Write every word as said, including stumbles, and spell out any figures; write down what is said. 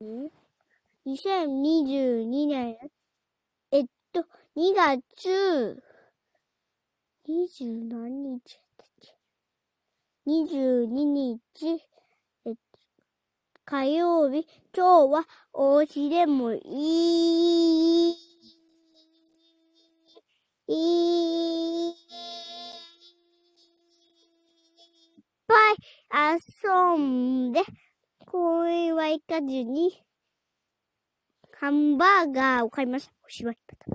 にせんにじゅうにねん、えっと、にがつ、にじゅう何日だっけ ?にじゅうににち、えっと、火曜日、今日はお家でもいい、いっぱい遊んで、公園は行かずに、ハンバーガーを買いました。おしまい。